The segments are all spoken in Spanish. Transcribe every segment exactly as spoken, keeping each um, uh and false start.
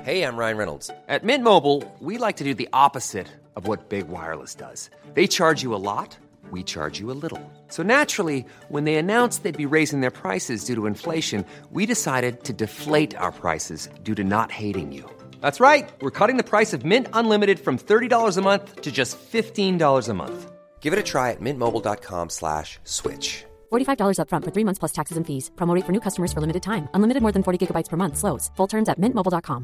Hey, I'm Ryan Reynolds. At Mint Mobile, we like to do the opposite of what Big Wireless does. They charge you a lot, we charge you a little. So naturally, when they announced they'd be raising their prices due to inflation, we decided to deflate our prices due to not hating you. That's right. We're cutting the price of Mint Unlimited from thirty dollars a month to just fifteen dollars a month. Give it a try at mintmobile.com slash switch. forty-five dollars up front for three months plus taxes and fees. Promo rate for new customers for limited time. Unlimited more than forty gigabytes per month. Slows full terms at mint mobile dot com.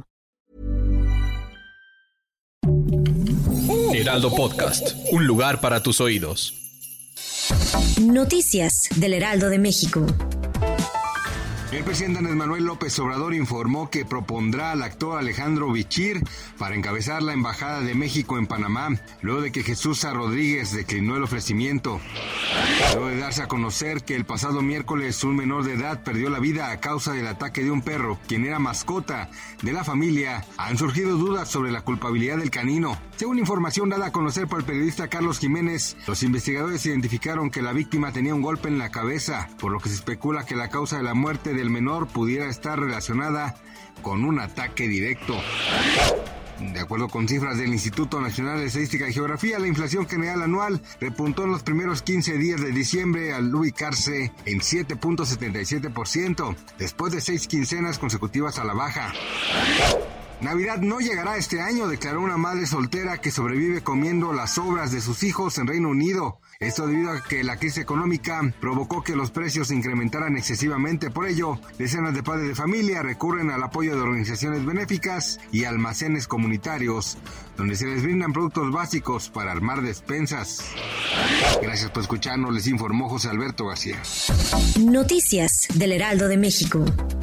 Heraldo Podcast, un lugar para tus oídos. Noticias del Heraldo de México. El presidente Andrés Manuel López Obrador informó que propondrá al actor Alejandro Bichir para encabezar la Embajada de México en Panamá, luego de que Jesús A. Rodríguez declinó el ofrecimiento. Luego de darse a conocer que el pasado miércoles un menor de edad perdió la vida a causa del ataque de un perro, quien era mascota de la familia, han surgido dudas sobre la culpabilidad del canino. Según información dada a conocer por el periodista Carlos Jiménez, los investigadores identificaron que la víctima tenía un golpe en la cabeza, por lo que se especula que la causa de la muerte del menor pudiera estar relacionada con un ataque directo. De acuerdo con cifras del Instituto Nacional de Estadística y Geografía, la inflación general anual repuntó en los primeros quince días de diciembre al ubicarse en siete punto setenta y siete por ciento, después de seis quincenas consecutivas a la baja. Navidad no llegará este año, declaró una madre soltera que sobrevive comiendo las sobras de sus hijos en Reino Unido. Esto debido a que la crisis económica provocó que los precios se incrementaran excesivamente. Por ello, decenas de padres de familia recurren al apoyo de organizaciones benéficas y almacenes comunitarios, donde se les brindan productos básicos para armar despensas. Gracias por escucharnos, les informó José Alberto García. Noticias del Heraldo de México.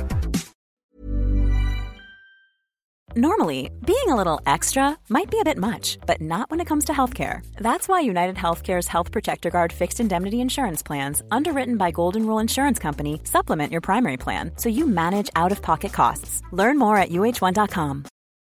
Normally, being a little extra might be a bit much, but not when it comes to healthcare. That's why United Healthcare's Health Protector Guard fixed indemnity insurance plans, underwritten by Golden Rule Insurance Company, supplement your primary plan so you manage out-of-pocket costs. Learn more at U H one dot com.